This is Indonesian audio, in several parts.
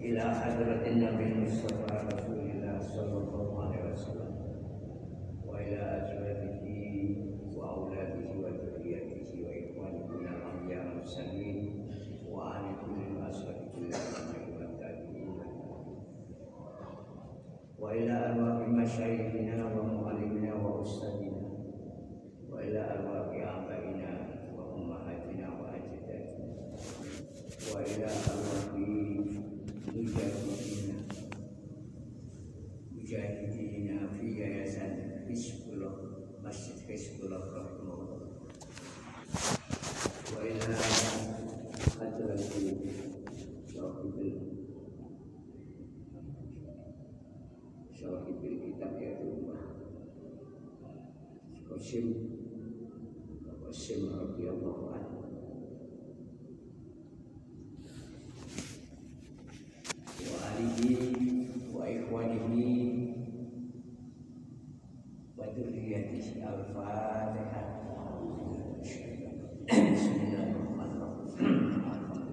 ila hadratin Nabi Mustafa Rasulullah sallallahu alaihi wasallam wa ila azwajihi wa auladihi wa dzurriyyatihi wa ikhwanihi minal anbiya'i wal mursalin wa ali kulli ashabihi wa tabi'in wa ila arwahi masyayikhina wa muallimina wa ustadina wa ila arwahi abaina wa ummahatina wa ajdadina wa ila arwahi mujahidina fi yayasan Hizbullah Masjid Hizbullah rahimahullah wa ila hadrati syarahibil kitab ya Allah Qasim radhiyallahu anhu wa alihi wa ikhwanihi wa dzurriyyatihi al-Fatihah. Bismillahirrahmanirrahim.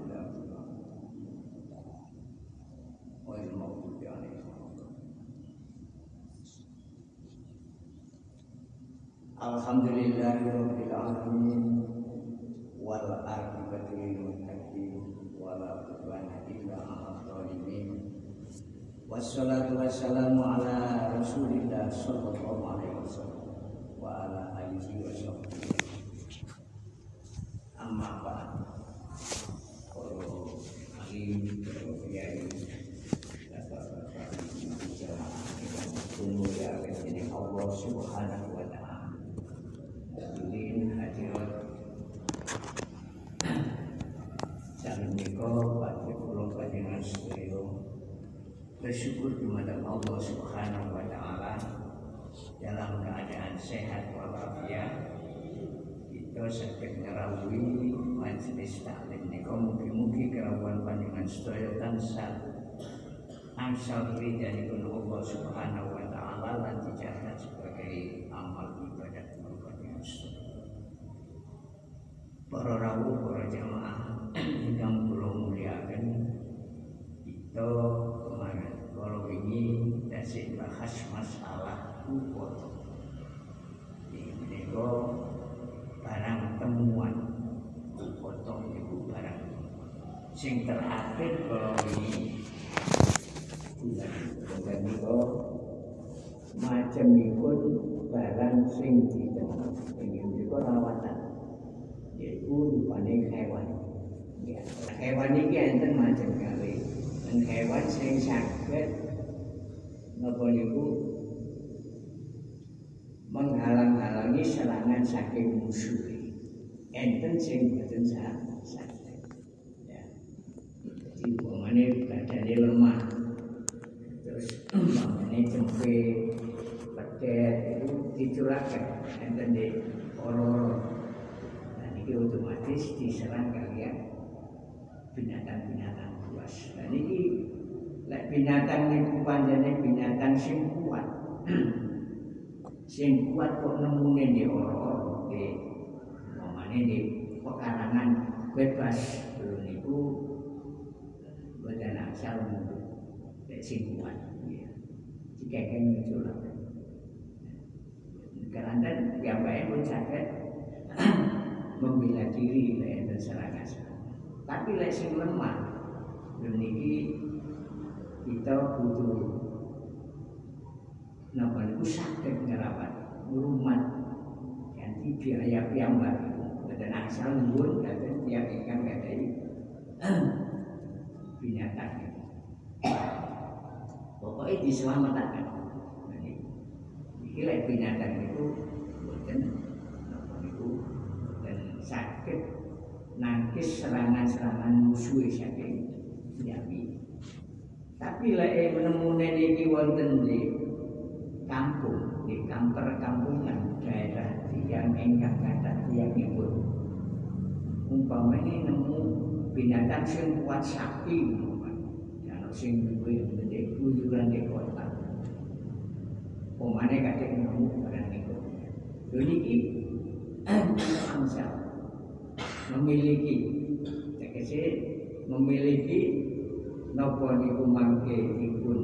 Alhamdulillahirabbil alamin wal aqibatu lil muttaqin wala udwana illa 'alal zalimin. Wassalatu wassalamu ala Rasulillah sallallahu alaihi wasallam wa ala alihi washabbihi. Amma ba'd. Para alim, para kiai, bapak-bapak, ibu ya ini Allah Subhanahu wa taala. Hadirin hadirat jangan niko pada pulau panjenengan sedaya bersyukur kepada Allah Subhanahu wa taala dalam keadaan sehat walafiat kita saged ngrawuhi majelis taklim nika mugi-mugi kerawan panjenengan sedaya tansah angsal ridhanipun Allah Subhanahu wa taala lan dicatat sebagai amal ibadah panjenengan sedaya. Para rawuh, para jamaah ingkang kula mulyakaken, kita kemarin kalau ini tasik bahas masalah foto. Ini barang temuan foto itu barang. Sing terakhir kalau ini bukan itu macam ikut barang sing ditemukan. Ini juga rawatan. Yaitu rupane hewan. Ya, hewan ini enten macam kali. Dan hewan sing saged napa niku menghalang-halangi serangan saking musuh. Enten sing boten saged. Ya. Jadi umpamane badane lemah. Terus umpamane cempe, pedet itu dicuraken enten di ora-ora. Ini otomatis diserang kalian binatang-binatang buas. Dan ini binatang itu panjangnya binatang sing kuat. Sing kuat kok nemune di ora-ora di momane di pekarangan bebas belum itu badan asal sing kuat. Jika kan menculak. Karena yang baik pun sakit membela diri dari serangan. Tapi lek sing lemah niki kita butuh napa niku saged ngerawat ngrumat ganti biaya piyambak boten asal nuwun katen tiyang ingkang gadhahi binatang. Pokoknya diselamatkan. Iki lek binatang itu boten napa niku sakit nangkis serangan-serangan musuh saking Yami. Tapi lek menemune niki wonten di kampung, di perkampungan daerah yang ingkang kathah tiyangipun. Umpamane nemu binatang sing kuat sapi, ana sing duwe gede kujuran di kota. Umpamane kadek nemu barang niku. Lho niki memiliki, tegese memiliki napa niku mangke dipun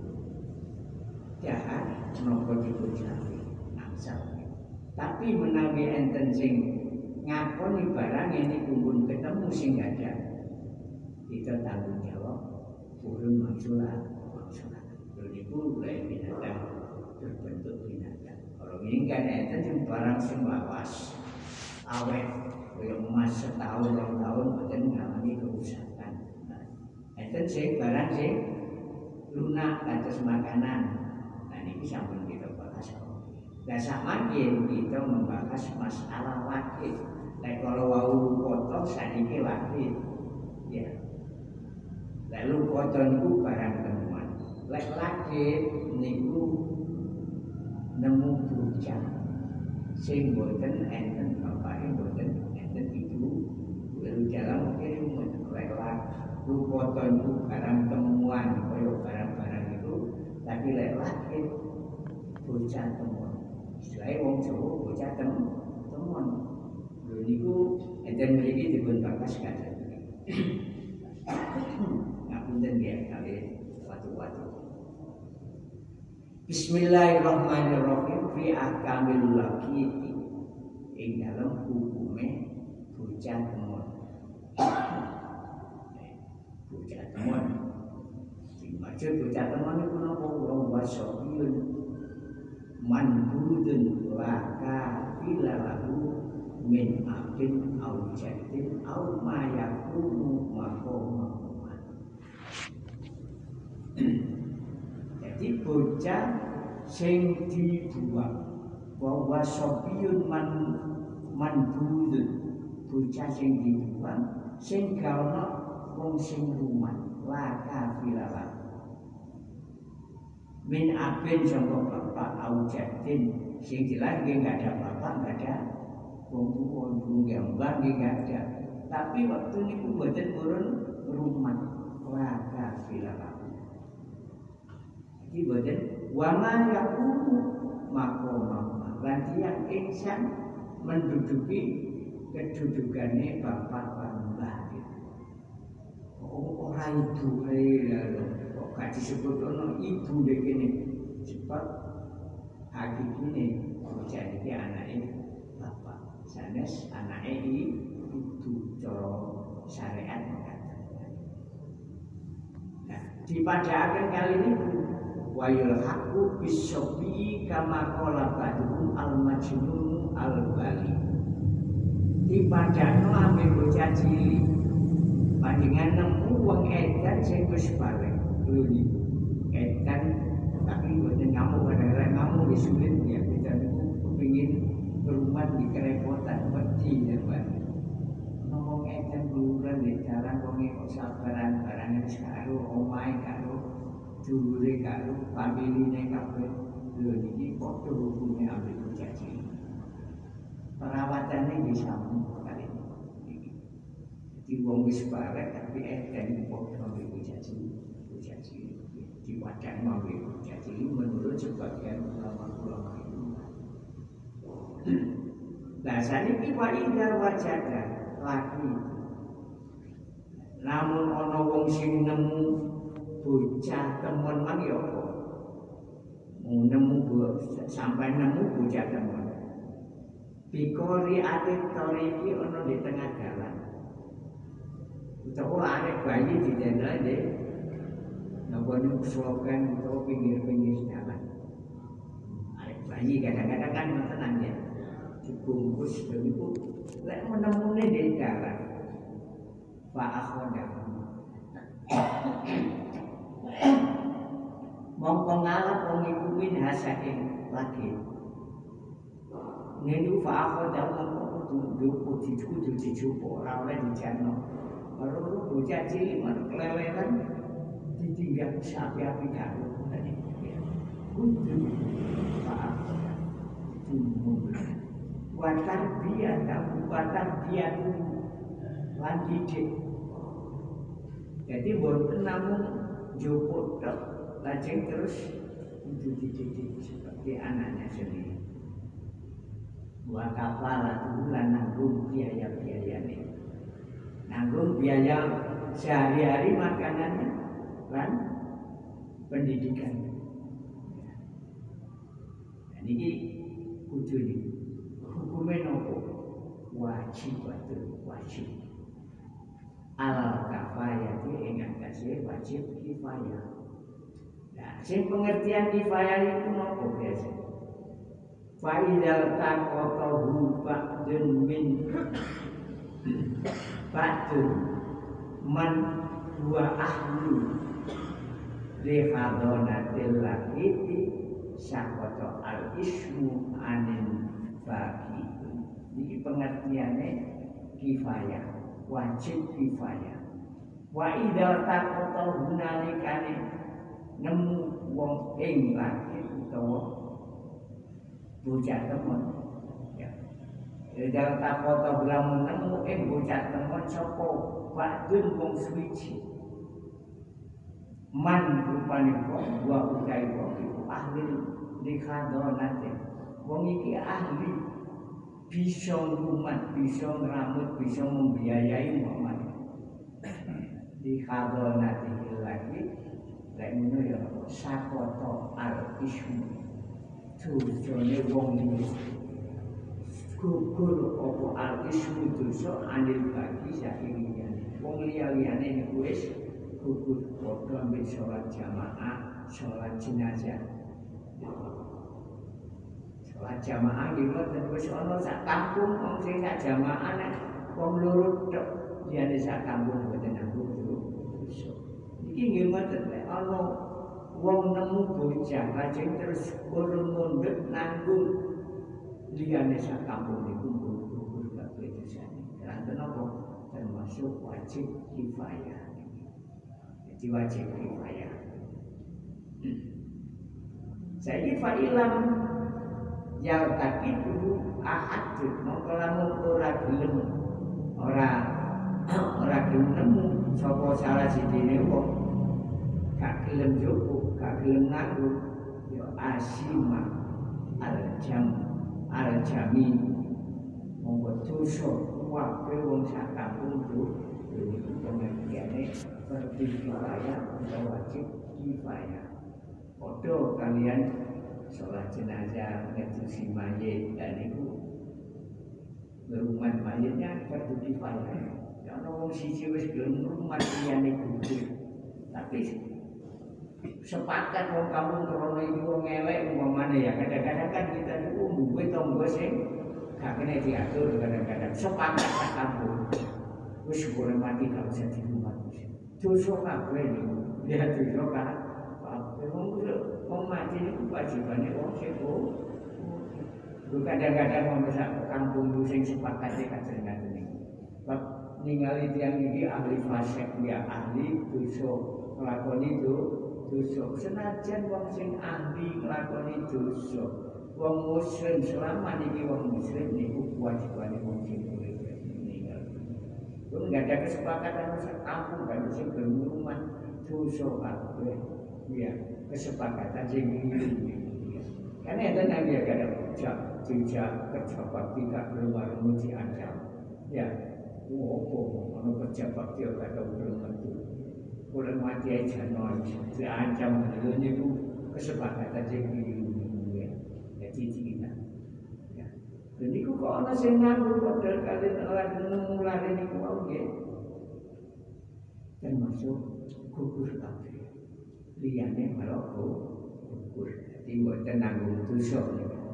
jahat napa dipun jahat nangsal. Tapi menawi enten sing ngakoni barang ini kumpul ketemu sing ada, kita tanggung jawab urun maksulah. Jadi itu lain binatang berbentuk binatang. Kalau ini kan enten sing barang sing lawas, awet, kaya emas setahun 2 tahun boten ngalami kerusakan. Enten sing barang sing lunak kados makanan. Nah niki sampun kita bahas. Nah samakin kita membahas masalah wakil. Lek kalau wau kotor saniki wakil. Ya. Lalu kotor niku barang temuan. Lek wakil niku nemu bujang. Sing boten enten bapake boten enten ibu. Lalu jalan mungkin lek lu kotor niku barang temuan kaya barang-barang itu, tapi lek wakil bujang temuan. Istilahnya wong Jawa bocah temuan. Lho niku enten mriki dipun bakas kados. Ngapunten nggih kali watu-watu. Bismillahirrahmanirrahim fi ahkamil laqiti. Ing dalem hukume bocah temuan. Bocah temuan. Dimaksud bocah temuan niku napa wong wasopiyun manbudun laka filalahu min abin au jadin au mayakunu makomakuman. Jadi bocah sing dibuang bahwa sopiyun manbudun bocah sing dibuang sing gaono wong sing rumah laka filalahu min abin sangka bapak au jadin sing jelas nggih enggak ada bapak enggak ada wong tuwa nggih mbah nggih enggak ada, tapi waktu niku mboten purun rumah laka filalahu. Jadi mboten wa ma yakunu maqama lan tiyang ingsan menduduki kedudukane bapak lan mbah. Ora ibu kok gak disebut ono ibu dek kene sebab hakikine bocah iki anake bapak sanes anake ibu cara syariat mengatakan. Nah dipadaaken kali niku wayul haqqu bisobi kama qala ba'dhum al majnun al bali dipadakno ambek bocah cilik bandingan nemu wong edan sing wis balik luli edan tapi boten ngamuk kadang-kadang ngamuk wis sulit ya kita niku kepengin rumah di kerepotan wedi ya Pak. Ngomong edan bulan di jalan wong kok sabaran barang wis karo omahe karo dulure karo familine kabeh lho niki padha hukume ambek bocah cilik. Perawatane wis sampun kali di wong wis barek tapi edan padha ambek bocah cilik diwacan ambek bocah cilik menurut sebagian ulama-ulama itu. Nah saniki wa idza wajada laki namun ana wong sing nemu bocah temen mang ya apa nemu sampai nemu bocah temen bikori atik toriki ana di tengah jalan utawa arek bayi di daerah deh napa niku slogan utawa pinggir-pinggir jalan arek bayi kadang-kadang kan tenan ya dibungkus niku lek menemune di jalan Pak Akhoda mongko ngalap wong iku min hasaking lagi niku Pak Akhoda mongko kudu dijupo ora oleh dijarno karo bocah cilik men keleleran ditinggal sapi-api karo tadi kudu Pak Akhoda dijupo watar dia tuh lan didik. Jadi boten namung jupuk tok lajeng terus dididik seperti anaknya sendiri. Wa kafala lan nanggung biaya-biayane. Nanggung biaya sehari-hari makanannya lan pendidikan. Dan ini kudu hukumnya nopo wajib wajib. Alal kafayah ing atase wajib kifayah. Nah, sing pengertian kifayah itu nopo biasa? Fa idzal taqatahu ba'dun min ba'dun man huwa ahlu li hadonatil lakiti saqata al ismu anin bagi. Ini pengertiannya kifayah, wajib kifayah. Wa idza taqata hunalikane nemu wong ing laki utawa bocah temen. Ya. Idza taqata lamun nemu ing bocah temen sapa ba'dun wong suci. Man rupane wong wa utai wong iku ahli likhadonate. Wong iki ahli bisa ngrumat, bisa ngeramut, bisa membiayai Muhammad. Likhadonate lagi lek ngono ya sakoto al ismu. Dosane wong iki gugur apa al ismu dosa anil bagi saking liyane. Wong liya-liyane niku wis gugur padha ambek sholat jamaah, sholat jenazah. Sholat jamaah iki wis ana sak kampung wong sing sak jamaah nek wong loro tok liyane sak kampung mboten nanggung dosa. Iki nggih mboten nek ana wong nemu bocah lajeng terus urung mundhut nanggung liyane sak kampung niku gugur kabeh dosane. Lan napa termasuk wajib kifayah. Wajib kifayah. Saya fa'ilam yang tak itu ahad mongko lamun ora gelem ora gelem nemu sapa salah sidine wong gak gelem jopo gak gelem ngaku ya asima al-jami mongko dosa wae wong sak kampung itu pengertiane kifayah atau wajib kifayah. Podo kalian sholat jenazah, ngedusi mayit dan itu berumat mayitnya fardu kifayah. Karena orang siji wis gelem rumah liyane gugur. Tapi sepakat wong kampung krono iki wong elek umpamane ya kadang-kadang kan kita niku duwe tangga sing gak kena diatur kadang-kadang sepakat sak kampung. Wis boleh mati kalau usah di rumah. Dosa kabeh niku. Ya dosa kabeh. Wong mati niku wajibane wong sing kadang-kadang wong sak kampung ku sing sepakat kadang-kadang niku. Bab ningali tiyang iki ahli fasik ya ahli dosa nglakoni dosa. Senajan wong sing ahli nglakoni dosa, wong muslim selama niki wong muslim niku wajibane wong sing enggak ada kesepakatan sekampung kan sing berumah dosa kabeh. Ya, kesepakatan sing ngene. Karena itu nanti ada jejak kerja bakti tak belum diancam. Ya, ana kerja bakti ora belum tentu. Boleh mati aja diancam niku kesepakatan sing ngene. Jadi kita jadi kok ana sing nganggo padahal kalian ora nemu lare niku wae nggih. Termasuk gugur kabeh. Liyane malah gugur. Dadi mboten nanggung dosa.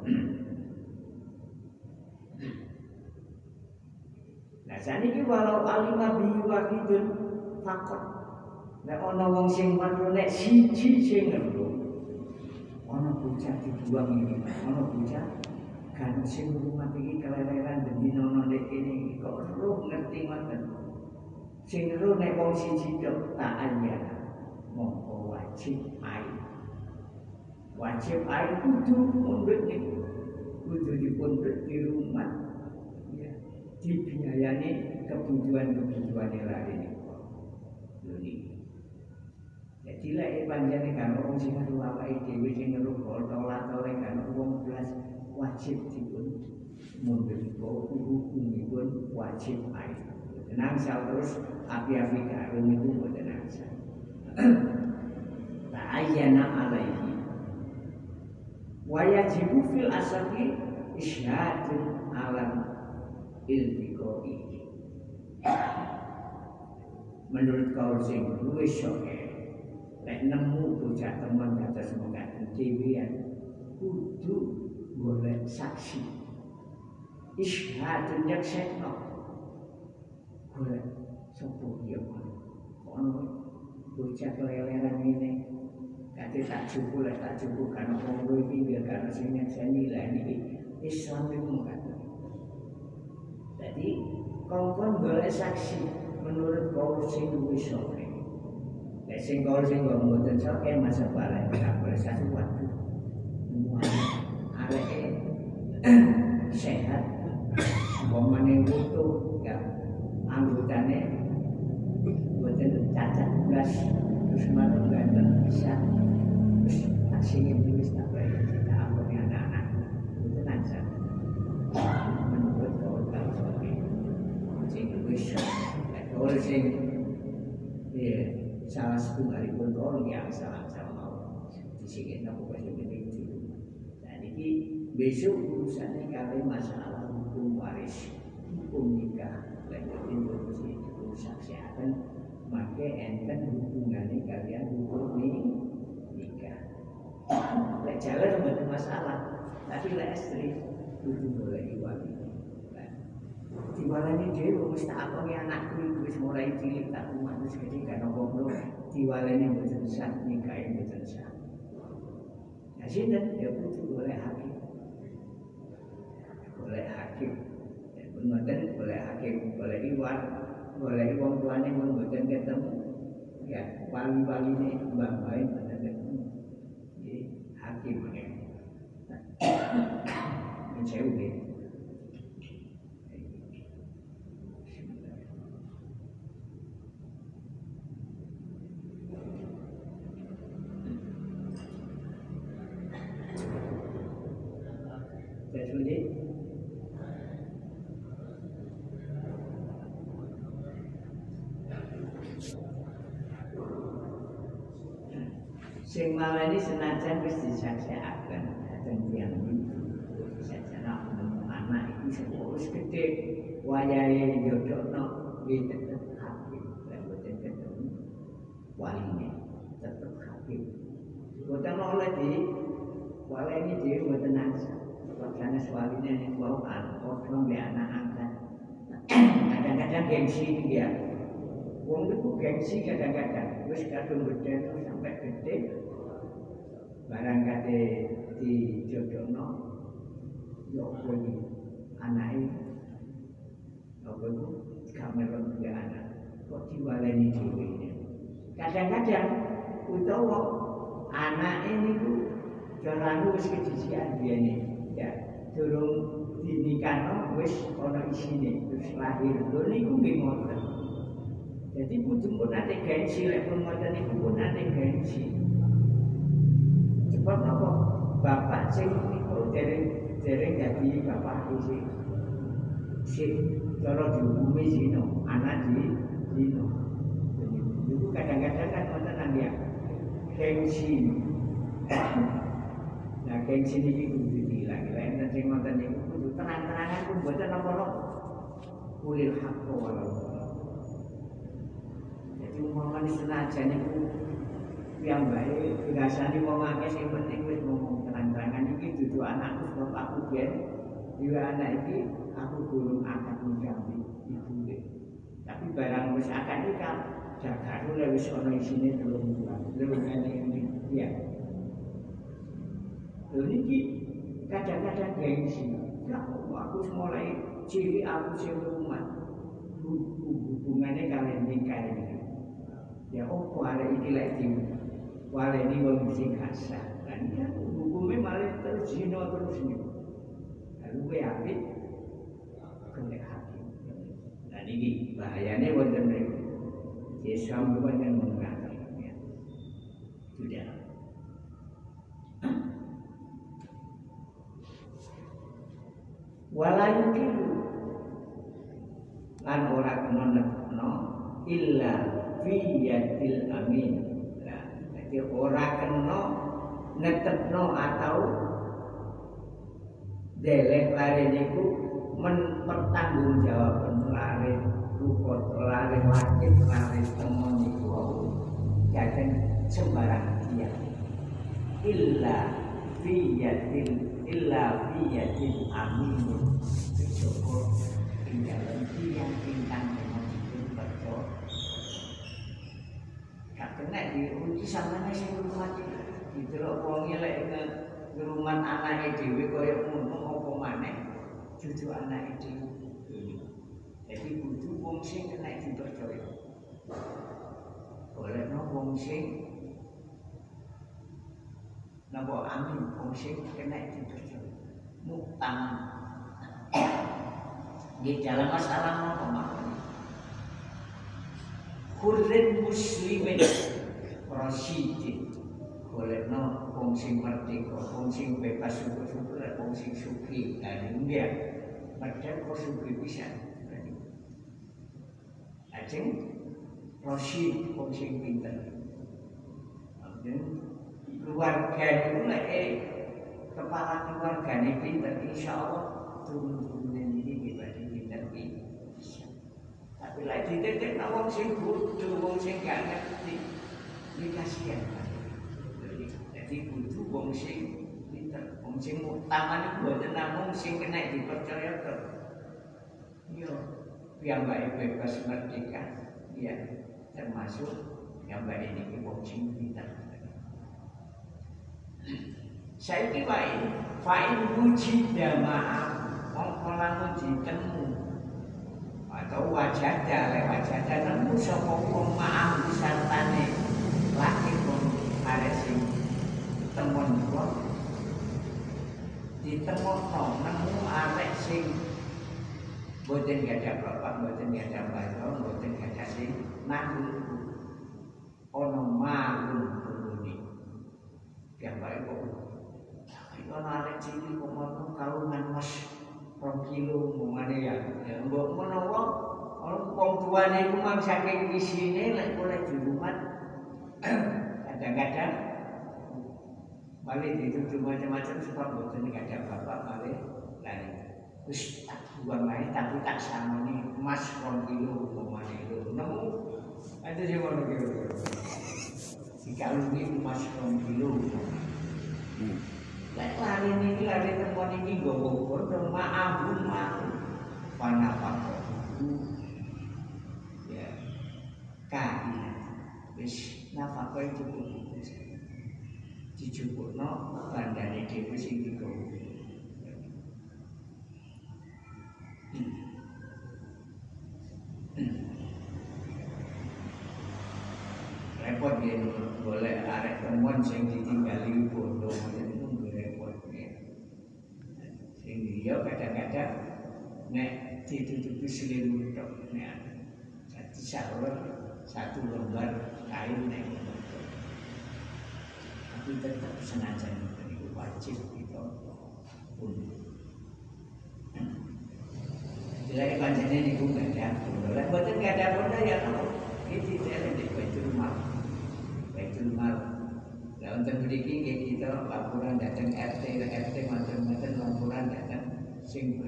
Lah saniki walau alima bi wahidun fakot. Nek ana wong sing weruh nek siji sing ngeru. Ana bocah dibuang iki, ana bocah kan sing rumah iki keleleran demi nono nek kene kok roh ngerti ngoten. Sing roh nek wong siji tok tak aya. Mongko wajib air. Wajib air kudu mundhut niku. Kudu dipundhut di rumah. Ya, dibiayani kebutuhan-kebutuhane lare niku. Lho jadi lek panjane kan wong sing ngaru awake dhewe sing ngeruh tolak-tolak kan wong belas wajib dipun mundhut hukumipun wajib air. Tenang terus api-api karo niku mboten nangsa. ta'ayyana alaihi wa yajibu fil asli isyhadun alam iltiqai. Menurut kaul sing luwih soke lek nemu bocah teman kados mengkaten dhewean kudu golek saksi isyhadun yaksekno golek sapa ya ono bocah keleleran ngene kate tak cukup lek tak cukup kan wong iki ya kan sing nyekseni lah iki Islam iku mengkaten. Jadi kongkon golek saksi menurut kaul sing luwih soke. Lek sing kaul sing mboten soke masa balik tak boleh sesuatu. Areke sehat, umpamane utuh ya anggotane mboten cacat blas terus manut ganteng bisa terus tak singin tulis tak baik kita ambone anak-anak mboten aja menurut kaul soke sing wis kaul sing ya salah satu hari pun orang yang salah mau disingin aku kasih begitu. Jadi besok urusannya kali masalah hukum waris, hukum nikah, lanjutin urusan kesehatan, maka enten hubungannya kalian hukum nikah. Lek jalan ada masalah, tapi lek istri itu boleh diwali. Diwalani dia wis tak akongi anakku wis mulai cilik tak rumah wis gede kan opo diwalani mboten sah nikahe mboten sah. Nah sinten ya kudu oleh hakim. Oleh hakim. Ya mboten oleh hakim, oleh iwan, oleh wong tuane mboten ketemu. Ya wali-waline mbah-mbahe mboten ketemu. Jadi hakim ya. Mencari sing malani senajan wis disaksiaken dateng tiyang itu saja nemu anak iki wis gedhe wayahe njodhokno nggih tetep hakim lan boten ketemu waline tetep hakim boten oleh di walene dhewe boten nasa wakane waline nek wau padha mbek anak angkat kadang-kadang gengsi dia wong itu gengsi kadang-kadang wis kadung gedhe sampai gede barang kate dijodohno yo kuwi anake apa itu gak melok duwe anak kok diwaleni dhewe kadang-kadang utawa anake niku jarane wis kedisian biyene ya durung dinikahno wis ana isine terus lahir lho niku nggih ngoten. Jadi kudu pun ate gengsi lek pun ngoten niku pun ate gengsi. Sebab apa? Bapak sing niku dereng dadi bapak iki sing cara dihukumi zina, anak zina. Itu kadang-kadang kan wonten ya gengsi. Nah gengsi niki kudu diilang. Lek sing ngoten niku kudu terang-terangan pun mboten napa-napa. Kulil haqqo walau umpamane senajan niku yang baik dirasani wong akeh sing penting wis ngomong terang-terangan iki dudu anakku sebab aku biyen dhewe anak iki aku gurung akad nikah ibu. Tapi barang wis akad nikah jaga dulu wis ana isine 3 bulan. Lha ngene ya. Lha niki kadang-kadang gengsi. Ya aku mulai cilik aku sing rumah. Hubungannya kalian nikah ini. Ya opo arek iki lek di waleni wong sing kasar. Kan ya hukume malah terus zina terus niku. Lalu kowe apik kene hakim. Nah niki bahayane wonten mriku. Islam bukan mengatakan ya. Sudah. Walayukin lan ora kena nekno illa fi yadil amin. Nah, Jadi ora kena netepno atau deleh lare niku mempertanggungjawabkan lare luput lare wajib lare temen niku jangan sembarang dia illa biyatin amin syukur tinggal yang bintang memang itu betul gak kena diuji sama nasi rumah gitu loh wongnya lagi ke rumah anaknya dewi kaya ngono apa maneh cucu anaknya dewi jadi kudu wong sing kena dipercaya boleh no wong sing napa amin wong sing kena dipercaya muktam di dalam masalah napa maknanya khurrin muslimin rasyidin boleh no wong sing merdeka wong sing bebas syukur-syukur wong sing suki dan dia padahal kok suki bisa ajeng rasyid wong sing pinter keluarga itu lah kepala keluarga ini pinter insya Allah turun-turunan ini dibanding pinter bisa tapi lagi ditetek wong sing bodoh wong sing gak ngerti ini kasihan jadi bodoh wong sing pinter wong sing utama itu buatan namung sing kena dipercaya ke yo yang baik bebas merdeka ya termasuk yang baik ini wong sing pinter saya kira fa'in wujida ma'am mongkolamu ditemu atau wajada lewajada nemu sapa wong ma'am disantane laki pun arek sing temon kok ditemokno nemu arek sing boten gadah bapak boten gadah bapak boten gadah sing nanggung ono malun yang baik kok itu narik cilik kok mau kalungan mas 2 kilo ngomane ya mbok menawa wong tuane iku mang saking isine lek oleh di rumah kadang-kadang balik dituduh macam-macam sebab boten kadang bapak balik lari wis tak buang ae tapi tak samoni mas 2 kilo ngomane lho nemu ada sing ngono kira-kira dikalungi emas 2 kilo. Lek lari niki lari temuan iki nggawa bodho maafun panapa ya kain wis nafkah itu cukup dicukupno bandane dhewe sing digawa repot ya boleh arek temuan sing ditinggali bodoh itu repot ya sing dia kadang-kadang nek ditutupi selimut tok nek jadi satu lembar kain nek tapi tetap senajan itu wajib kita pun jadi panjenengan niku gak ada bodoh lah boten gak ada bodoh ya itu saya di Baitul Mal. Lah untuk mriki nggih kita laporan datang RT macam-macam laporan datang sing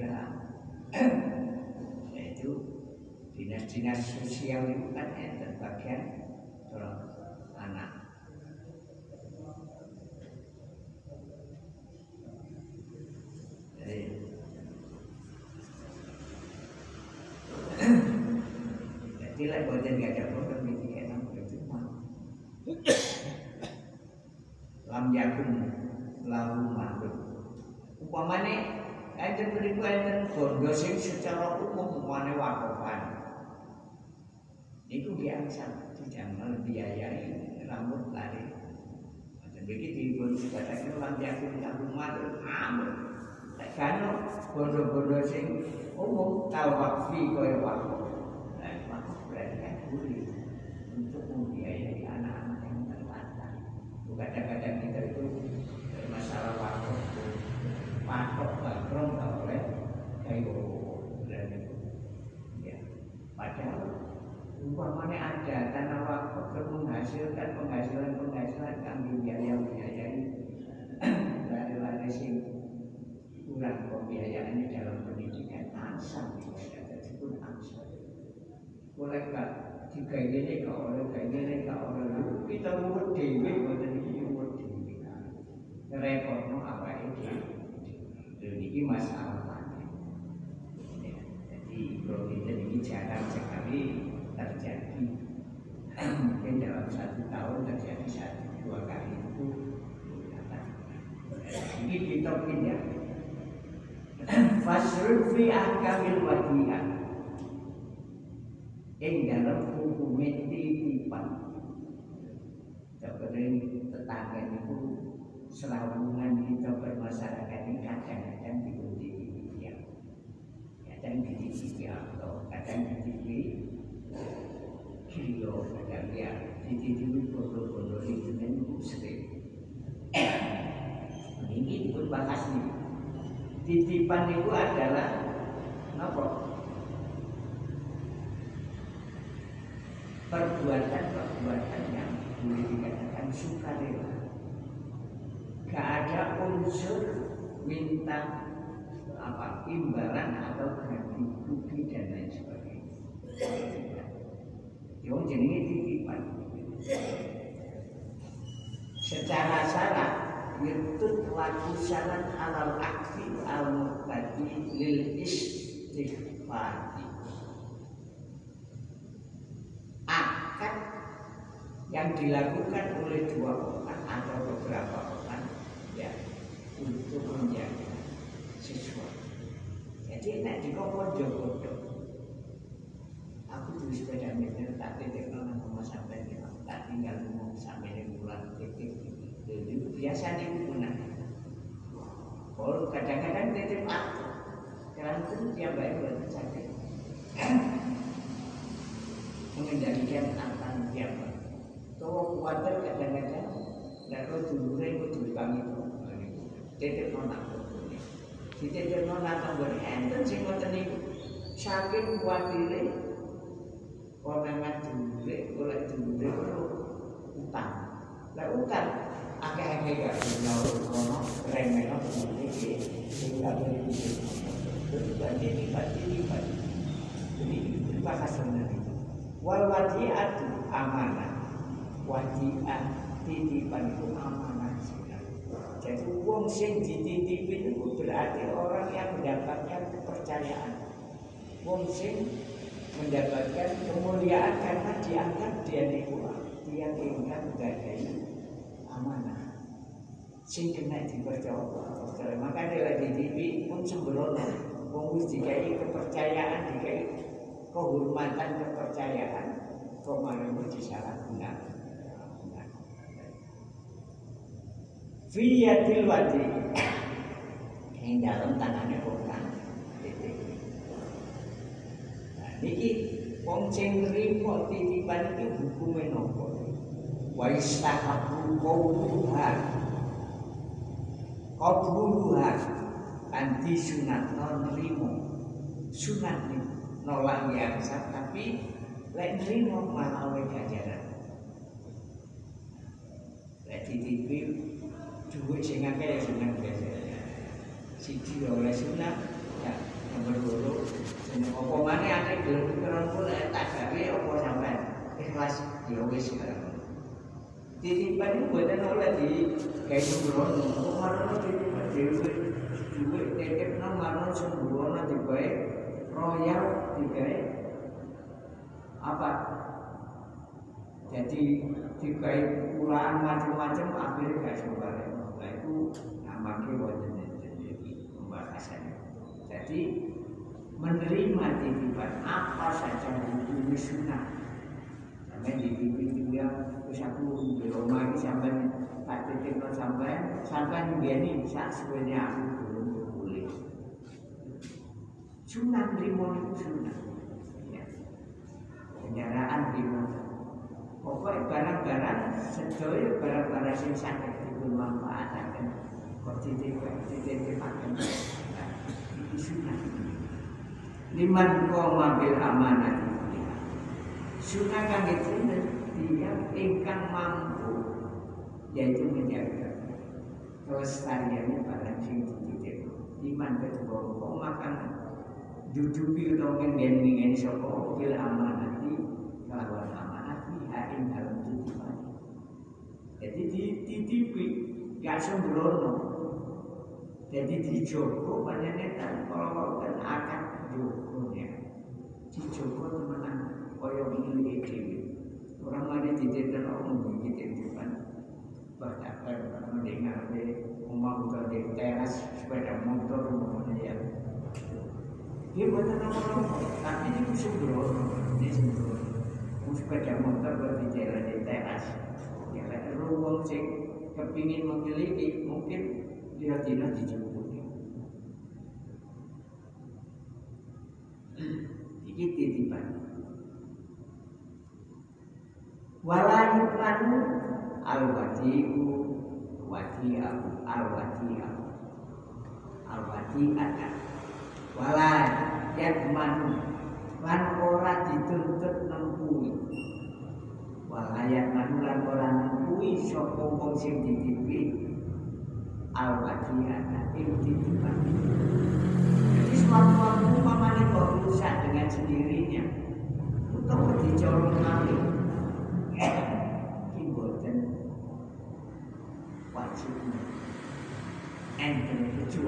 yaitu dinas-dinas sosial itu kan enten bagian tolong anak. Jadi lah boten gak ada problem iki enak cuma lam yakun lahu malun upamane enten mriku enten bondo sing secara umum upamane wakofan niku biasa dijamal biayai rambut lari macam begitu pun dikatakan lam yakun lahu malun amun lek kan bondo-bondo sing umum tau wakfi kaya wakof untuk membiayai anak-anak yang terlantar. Kadang-kadang kita itu masalah waktu patok background oleh kayu dan ya. Padahal umpamanya ada tanah waktu menghasilkan penghasilan angsa. Oleh gak digayene gak oleh gayene gak oleh kita muwet dhewe mboten iki muwet dhewe. Repotno awake dhewe. Iki masalah. Jadi kalau kita ini jarang sekali terjadi. Mungkin dalam 1 tahun terjadi 1-2 kali itu. Ini kita pindah. Fasrul fi ahkamil wadiyah. Dalam hukum titipan. Sebenarnya tetangga itu selawungan kita bermasyarakat ini kadang-kadang diundi ya. Kadang dititipi atau kadang dititipi kilo, kadang ya dititipi bodoh-bodoh itu kan sering. Ini pun bahas nih. Titipan itu adalah apa? Perbuatan-perbuatan yang boleh dikatakan sukarela. Gak ada unsur minta apa imbalan atau ganti rugi dan lain sebagainya. Yang jenenge titipan. Secara syarat yaitu laku syarat alal akti al-muqtadi lil istighfar. Akad yang dilakukan oleh 2 orang atau beberapa orang ya untuk menjaga sesuatu. Jadi nek dikopo-kopo aku tuh sepeda meter tak titik nang omah sampeyan ya tak tinggal ngomong sampeyan bulan titik itu biasa digunakan. Kalau kadang-kadang titip aku karena itu dia baik buat sakit mengendalikan antara siapa. Kalau khawatir kadang-kadang nggak tahu dulu itu kami titip nona titip nona tambah enten sing ngoten niku saking kuatire konangan dulu oleh dulu utang. Lah utang akeh-akeh gak nyaur kono remeno iki sing gak boleh dibagi jadi bahasa sebenarnya. Wal wadi'atu amanah. Wadi'ah titipan itu amanah. Jadi wong sing dititipin itu berarti orang yang mendapatkan kepercayaan. Wong sing mendapatkan kemuliaan karena dianggap dia ingkang menggadai amanah. Sing kena dipercaya. Makanya lagi dititipi pun sembrono. Wong wis dikai kepercayaan, dikai kehormatan kepercayaan kok malah disalahgunakan. Fiyatil wadi yang dalam tangannya bukan titik. Nah, niki wong sing nrimo titipan iki hukume napa? Wa istahabu qabuluha anti sunat nrimo sunat nih nolak biasa tapi lek nrimo malah oleh ganjaran. Lek titipi duit sing akeh ya sunat biasa. Siji oleh sunat ya nomor 2 apa maneh akeh gelem pikiran kula tak gawe apa sampean ikhlas ya wis sekarang. Titipan itu buatan oleh di gawe sembrono, kok marono titipan dhewe duit titip nang marono sembrono digawe royal digawe apa? Jadi digawe ulaan macam-macam akhirnya gak sembarang. Nah itu namanya wonten iki pembahasannya. Jadi menerima titipan apa saja hukum sunnah. Sampai dititipi dia terus aku di rumah ini sampai tak titip sampai begini saat sebenarnya aku belum boleh. Sunnah terima itu sunnah. Ya. Kendaraan terima. Pokoknya barang-barang sedaya barang-barang yang sakit itu manfaatkan. Kok titip-titipaken. Nah, itu sunnah. Liman qoma bil amanah. Sunnah kang itu dia ingkang mampu yaitu menjaga kelestariannya barang sing dititip. Liman kedua makan jujubi utawa nggen-nggen sapa bil amanati kelawan amanat fiha ing dalem titipan. Jadi dititipi gak sembrono. Jadi dijogo panjenengan kalau kan akan jogonya. Dijogo temenan kaya milih dhewe. Orang mana dititipkan orang mungkin titipan. Bahkan mendengar rumah udah di teras sepeda motor rumahnya ya. Dia buatan apa-apa, tapi itu sembrono, ini sembrono. Sepeda motor berarti jalan di teras. Ya kan ruang sing kepingin memiliki mungkin dia tidak dicukupi. Iki titipan. Walayuklanu al-wadi'u wadi'ahu al-wadi'ahu al-wadi'ata wala yadmanu lan ora dituntut nempui wala yadmanu lan ora nempui sapa wong sing dititipi al-wadi'ata ing titipan. Jadi suatu umpamane kok rusak dengan sendirinya utawa dicolong malih wajibnya enten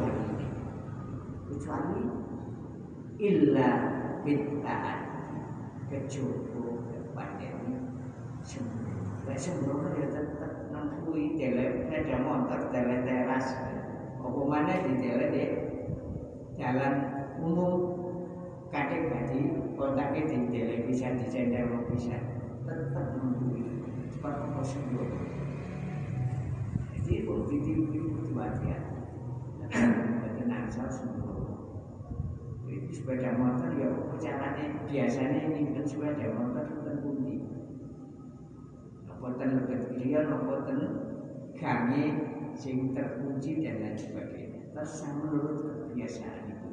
kecuali illa bid'ah kecuali kepadanya sembrono ya tetap nampui sepeda motor tele teras apa mana di tele deh jalan umum kadang gaji kontaknya di tele bisa di channel bisa tetap nampui cepat sembrono. Jadi kalau titipi itu hati-hati, tenang saja sembrono. Jadi sepeda motor ya caranya biasanya ini kan sepeda motor terkunci. Nopoten lebih kecil, nopoten gange sing terkunci dan lain sebagainya. Terus menurut kebiasaan itu.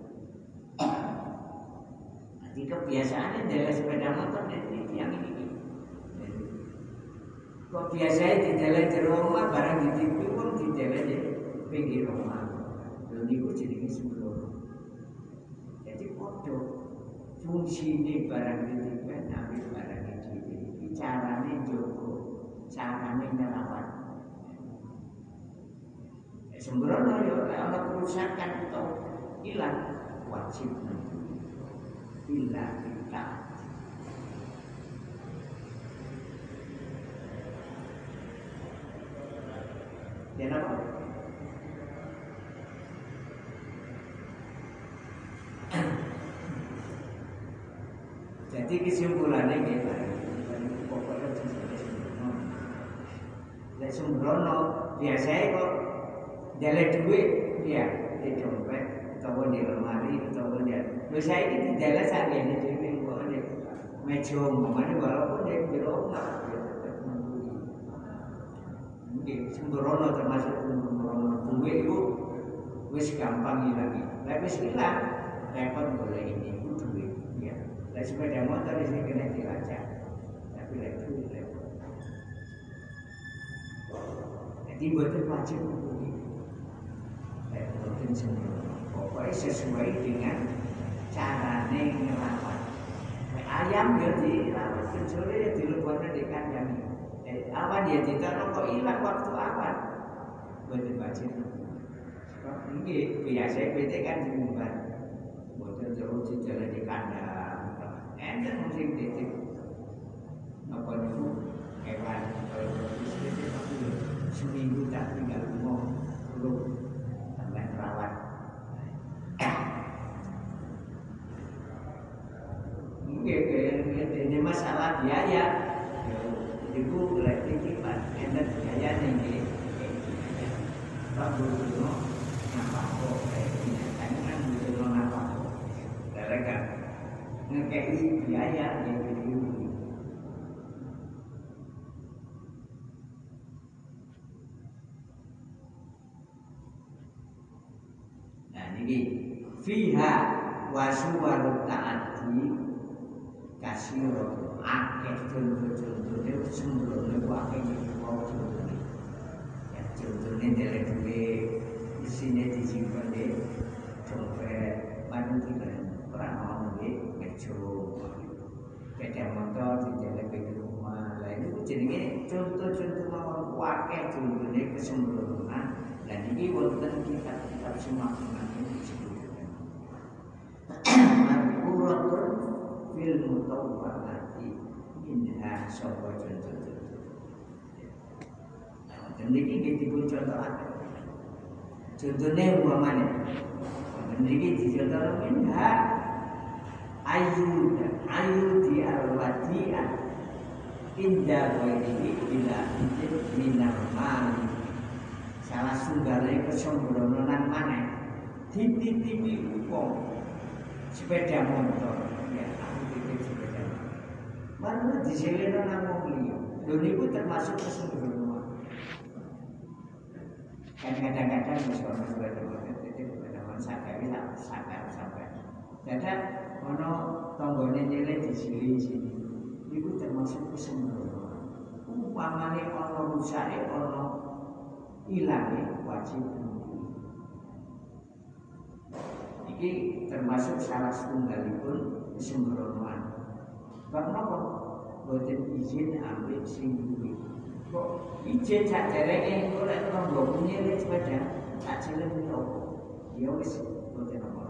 Nanti kebiasaannya dari sepeda motor dan yang ini. Kok biasanya di dalam rumah barang di TV pun di dalam di pinggir rumah. Lalu itu jadi sembrono. Jadi foto fungsi ini barang di TV, ambil barang di TV. Caranya jogo, caranya merawat. Sembrono ya kalau kerusakan atau hilang wajib hilang kita. Dan apa? Jadi kesimpulannya kita pokoknya sembrono. Lek sembrono biasanya kok jalan duit ya di dompet atau di lemari atau di biasanya ini di jalan saja di sini kok di meja mana walaupun di rumah. Sembrono termasuk sembrono duit itu wis gampang hilang. Lek wis hilang repot boleh ini duit ya. Lek sepeda motor di sini kena dilacak. Tapi lek duit repot. Jadi betul wajib duit. Lek betul sembrono. Pokoknya sesuai dengan carane ngerawat. Ayam ya dirawat sore ya dileboknya di kandang. Awan dia tidak kok hilang waktu awan betul wajib. Ini biasa PT kan diumbar betul terus jalan di kandang enten mungkin titip apa itu hewan seminggu tak tinggal mau belum sampai terawat. Ini masalah biaya. Ibu lagi kipas, enak gaya nih. Bagus dulu, nampak kok kayak gini. Kan dulu nampak kok. Mereka ngekei biaya yang beli. Nah ini fiha wasuwarut taati kasiro. Akeh contoh-contohnya sembrono akeh iki mau contohnya. Ya contohnya dari duit isinya disimpan di dompet, baru tidak pernah bejo, sepeda motor dijelek di rumah. Lah itu jenenge contoh-contoh mawon akeh contohnya kesembronoan. Dan ini wonten kitab-kitab semakna ini disebutkan. Marfuratun fil mutawwalati minha sapa contoh-contoh. Dan ini dipun contoh akeh. Contohnya umpamane mriki dicontoh minha ayu di al-wadi'ah indah ini bila izin minal mali. Salah sunggale kesembronoan maneh dititipi wong sepeda motor ya aku titip sepeda malah diseleno nang wong liya. Lho niku termasuk kesembronoan. Kan kadang-kadang wis ono sepeda motor titip sepeda motor sadar sampai dadak ono tanggane nyeleh disili sini niku termasuk kesembronoan. Umpamane ono rusake ono ilange wajib nunggu. Iki termasuk salah setunggalipun kesembronoan. Bab napa? Boten izin ambil sing duwe. Kok izin sak dereke engko lek tangga punya sepeda tak jelek opo? Ya wis boten apa.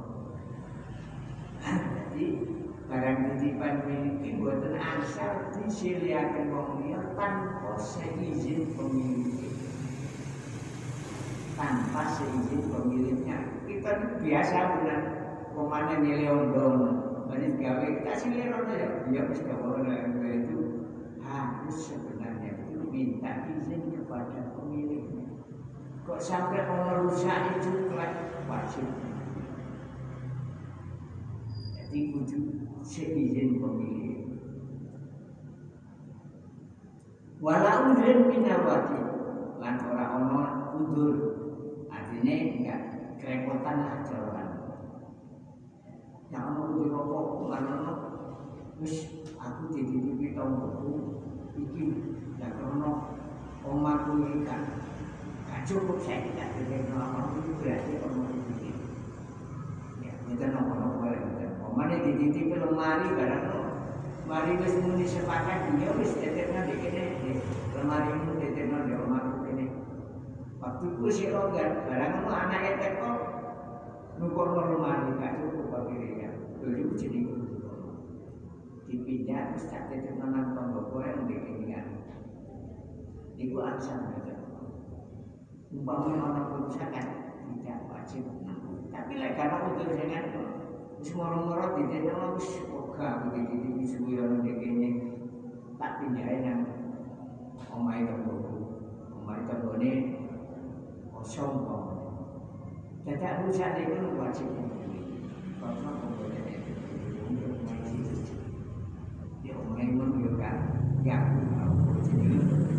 Jadi barang titipan miliki boten asal disilihaken wong liya tanpa seizin pemilik. Tanpa seizin pemiliknya. Kita biasa bulan pemane nilai ondong banyak gawe kasih lihat ya dia mesti orang itu harus sebenarnya itu minta izin kepada pemiliknya. Kok sampai orang rusak itu wajib. Jadi kudu seizin pemilik. Walau udren minawati lan orang udur. Artinya enggak kerepotan lah jalan. Yang mau dirokok, mana wis aku titip tonggoku iki ya krono omaku iki kan gak cukup saya tidak titip nomor itu berarti omah iki. Ya, kita nomor omane dititip lemari barang mari wis muni sepakat dia wis titipna dikene lemari itu titipna di omahku kene. Waktu itu si longgar, barang itu anaknya teko nukor lemari gak cukup pakirnya. Dulu jadi dipindah, terus tak tetap nang tonggo kowe yang dikinian. Iku ansam aja. Umpamanya orang kerusakan tidak wajib. Tapi lek karena utur dengan wis moro-moro ditenno wis wegah begitu disuwi orang dikini tak pindahin nang omahe tonggoku. Omahe tanggone kosong kok. Dadak rusak itu wajib karena pembelian itu untuk masih dia orang menunjukkan yang mau jadi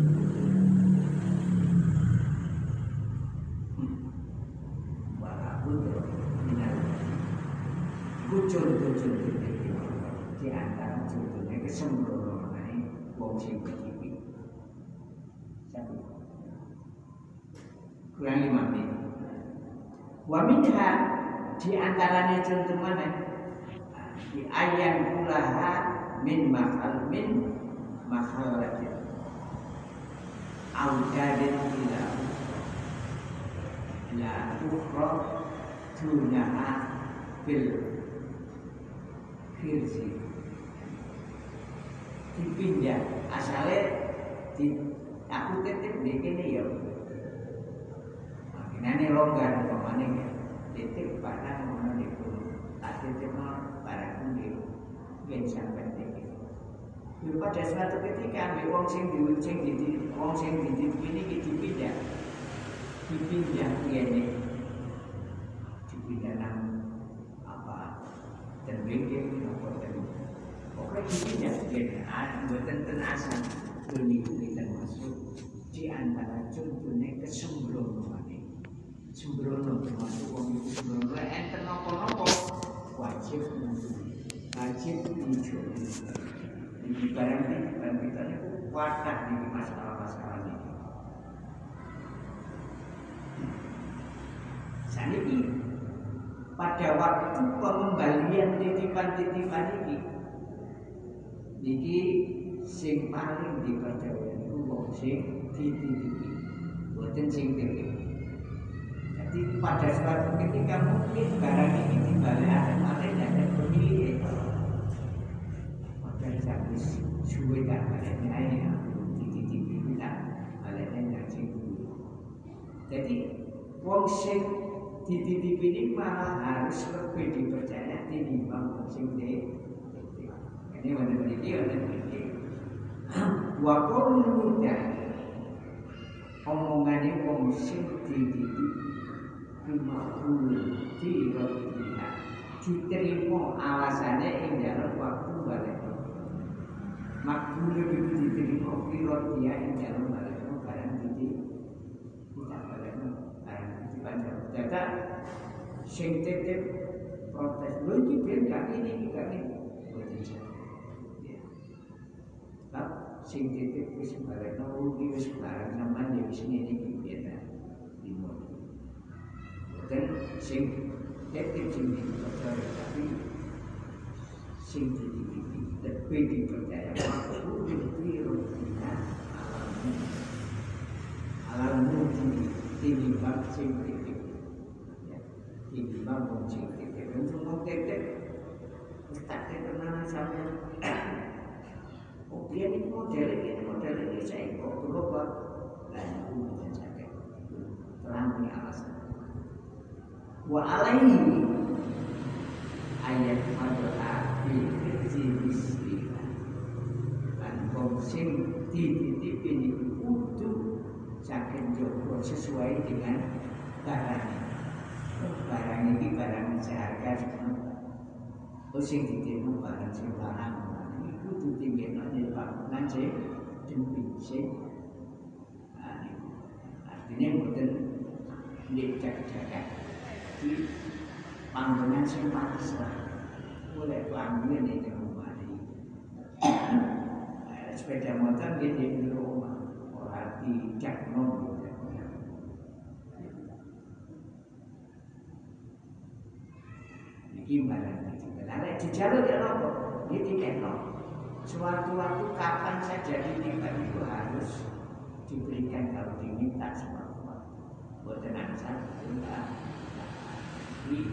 walaupun benar contoh-contoh di antara contohnya kesembronoan wong sing iki satu kurang 5 menit. Wa minha di antaranya contoh mana? Di ayat kulaha min makhalatin audadin ila la ukhra dunaha bil khirsi dipindah asalnya aku titip di kene ya. Nani longgar pemane ya, titik barang mana dipun, tak titik barang pun dia sampai titik. Pada suatu ketika ambil wong sing diucing di wong sing di ini dipindah nang apa terbengkel apa tadi. Pokoknya dipindah dia, buatan asal ini termasuk di antara contohnya kesembronoan. Sembrono termasuk wong itu sembrono enten napa-napa wajib dijo. Iki barang kita niku wadah iki masalah-masalah iki. Saniki pada waktu pengembalian titipan-titipan iki sing paling dipercaya iku wong sing dititipi, boten sing titip. Jadi pada suatu ketika mungkin barang ini dibalik malah ada pemilik. Maka sampai suwe tak baliknya ini dititipi kita baliknya nggak sing. Jadi wong sing dititipi ini malah harus lebih dipercaya dibanding wong sing dititipi. Ini wonten mriki. Wa qawlul mudah omongane wong sing dititipi bimaqul dirodiha diterima alasannya ing dalam waktu balik. Makbul itu diterima dirodiha ing dalam balik barang kita balik barang titipan data sing titip protes lho iki ben gak ini sing titip wis barekno ugi wis barang sampean ya wis ngene iki biasa dimon. Dan sing titip sing dipercaya tapi sing titip lebih dipercaya waktu itu alammu tinimbang sing titip tinimbang wong sing titip untuk wong titip wis tak tenan sampeyan. Oh dia ini model saya kok berubah dan itu bisa sakit terang punya alasan. Wa alaihi ayat madoa bil bismillah dan sing dititipi niku kudu saking jowo sesuai dengan barang. Barang ini barang seharga sing dititipi barang sing larang kudu tinggal di bangunan sing demi sing artinya boten dicek-cek di panggonan sing pantes lah boleh panggonan di rumah sepeda motor di rumah orang dicek iki barang di jalur ya apa ini dikekno. Suatu-waktu kapan saja titipan itu harus diberikan kalau diminta semua. Buatan ansar kita di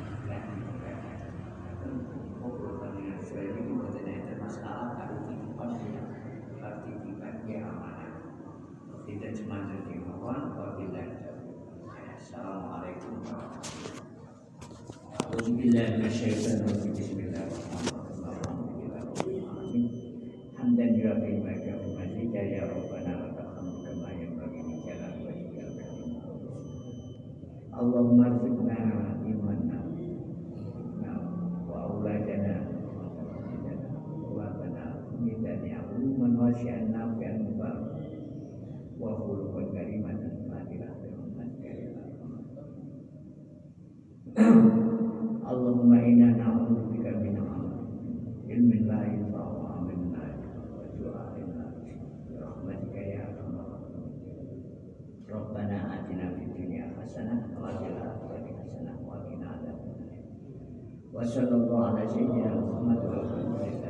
ini buatan ada masalah kalau titipan yang amanah. Tidak cuma jadi mohon apabila Assalamualaikum warahmatullahi wabarakatuh. Hamdan yu'afil maka umatika ya Rabbana wa ta'amu kama yang bagi jalan wajibkan Allahumma rizqna imanna wa auladana wa bana midani aluman wa syi'anna fi'an mubarak wa khuluqan karimatan fadilah firman karimah Allahumma inna na'udzubika min ilmin la yanfa'u Rabbana atina fid dunya hasanah wa fil akhirati hasanah wa qina adzabannar. Wa sallallahu ala sayyidina Muhammad wa alihi